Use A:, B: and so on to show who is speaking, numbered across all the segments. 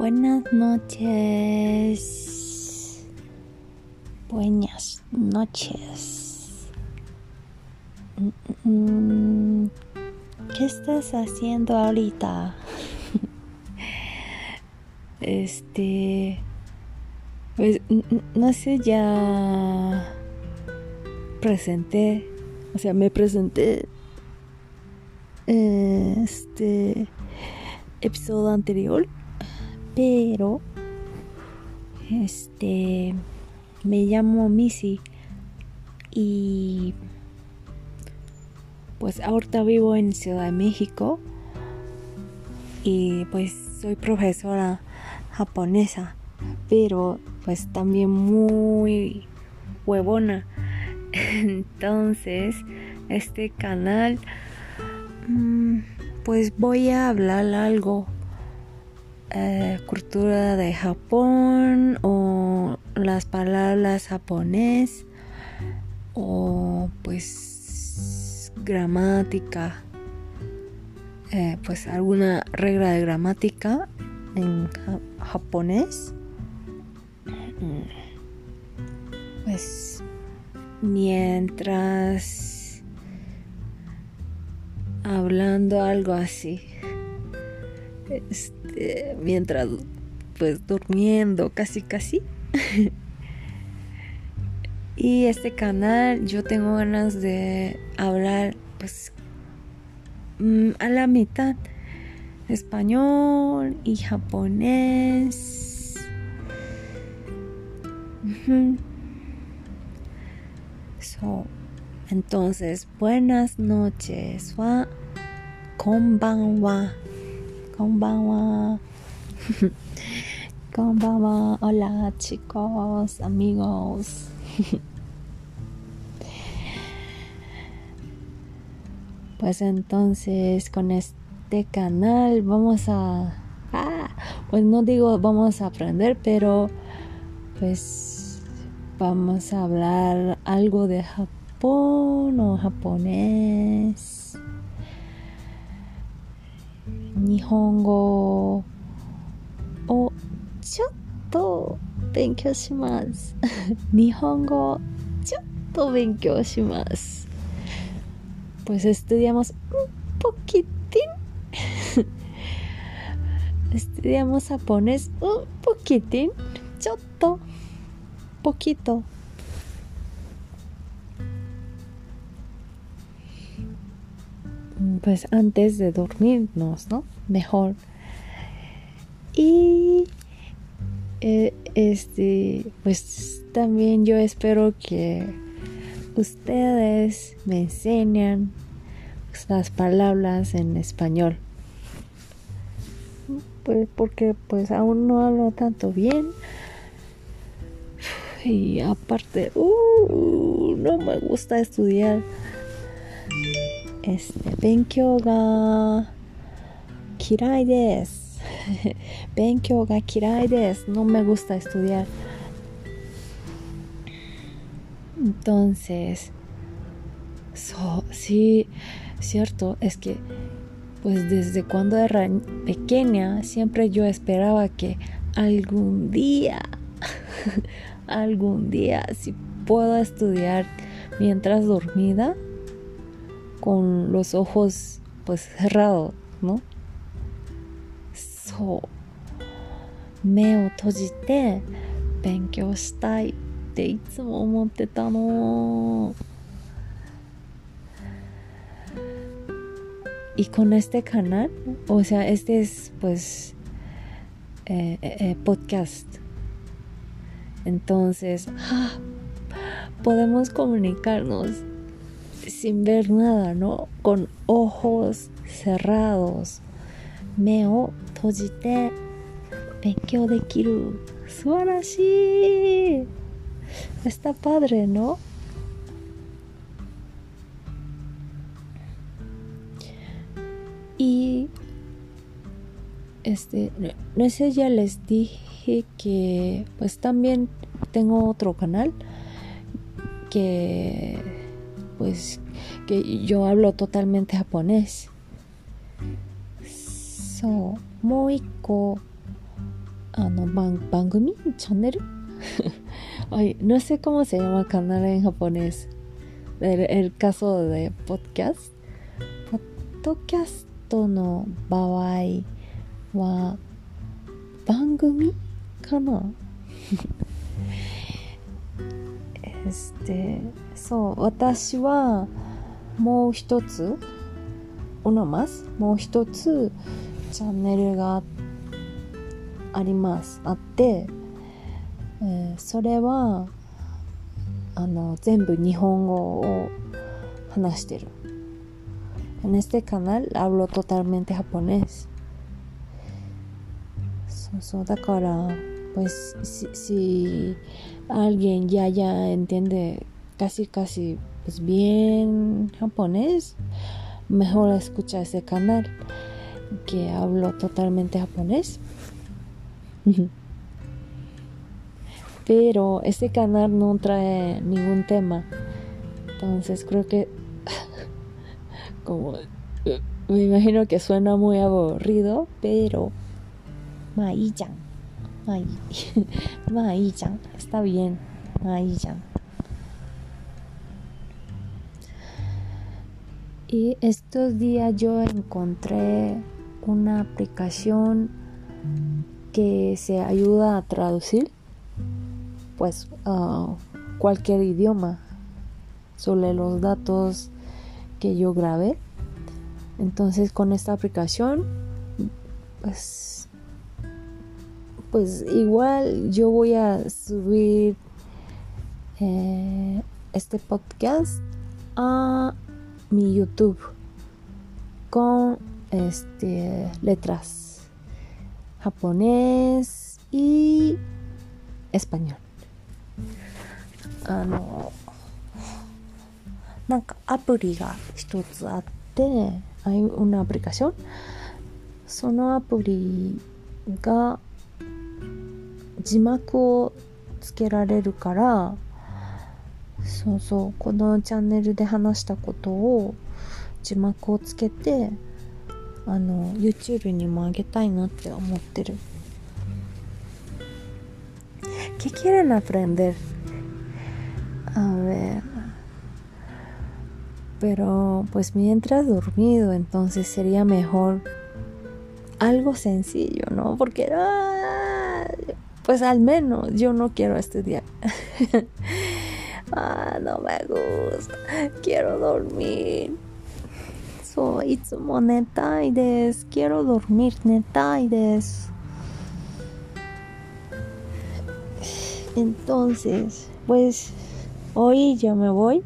A: Buenas noches. Buenas noches. ¿Qué estás haciendo ahorita? Pues no sé, ya me presenté episodio anterior, pero me llamo Missy y pues ahorita vivo en Ciudad de México y pues soy profesora japonesa, pero pues también muy huevona. Entonces este canal pues voy a hablar algo cultura de Japón o las palabras japonés o pues gramática, pues alguna regla de gramática en japonés, pues mientras hablando algo así, mientras pues durmiendo casi y este canal yo tengo ganas de hablar pues a la mitad español y japonés. Entonces buenas noches wa konbanwa. Konbanwa. Hola chicos, amigos. Pues entonces con este canal vamos pues no digo vamos a aprender, pero pues vamos a hablar algo de Japón o japonés, Nihongo o chotto benkyou shimasu. Nihongo chotto benkyou shimasu. Pues estudiamos un poquitín. Estudiamos japonés un poquitín, chotto, poquito. Pues antes de dormirnos, ¿no? Mejor. Y pues también yo espero que ustedes me enseñan pues, las palabras en español. Pues porque pues aún no hablo tanto bien. Y aparte, no me gusta estudiar. Benkyou ga kirai desu. Benkyou ga kirai desu. No me gusta estudiar. Entonces, sí, cierto, es que pues desde cuando era pequeña siempre yo esperaba que algún día si puedo estudiar mientras dormida con los ojos pues cerrados, ¿no? Me o tojite benkyou shitaiっていつも思ってたの。Y con este canal, o sea, este es pues podcast. Entonces, podemos comunicarnos sin ver nada, ¿no? Con ojos cerrados. Me o tojite benkyou dekiru. Subarashi. Está padre, ¿no? Y no sé, ya les dije que pues también tengo otro canal que pues que yo hablo totalmente japonés. Moiko ¿Bangumi? ¿Channel? Ay, no sé cómo se llama canal en japonés. El caso de podcast. Podcast の場合は番組かなそう、私はもう一つもう一つチャンネルがあって、それは全部日本語を話してる。En este canal hablo totalmente japonés. So, da cara, pues si alguien ya entiende casi pues bien japonés, mejor escucha ese canal que hablo totalmente japonés. Pero este canal no trae ningún tema, entonces creo que como me imagino que suena muy aburrido, pero Mai-chan, Mai-chan, está bien, Mai-chan. Y estos días yo encontré una aplicación que se ayuda a traducir pues cualquier idioma sobre los datos que yo grabé. Entonces con esta aplicación pues igual yo voy a subir este podcast a mi YouTube con letras japonés y español. なんかアプリが一つあって、hay una aplicación。そのアプリが字幕をつけられるから、そうこのチャンネルで話したことを字幕をつけてYouTube にも上げたいなって思ってる。¿Qué quieren aprender? A ver, pero pues mientras dormido, entonces sería mejor algo sencillo, ¿no? Porque pues al menos yo no quiero estudiar. No me gusta, quiero dormir. Itsumo netai desu, quiero dormir, netai desu. Entonces, pues hoy ya me voy.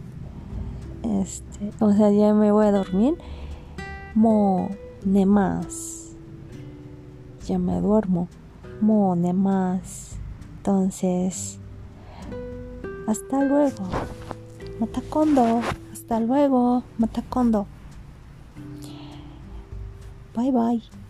A: Ya me voy a dormir. Mo nemasu. Ya me duermo. Mo nemasu. Entonces, hasta luego. Mata kondo. Hasta luego. Mata kondo. Bye bye.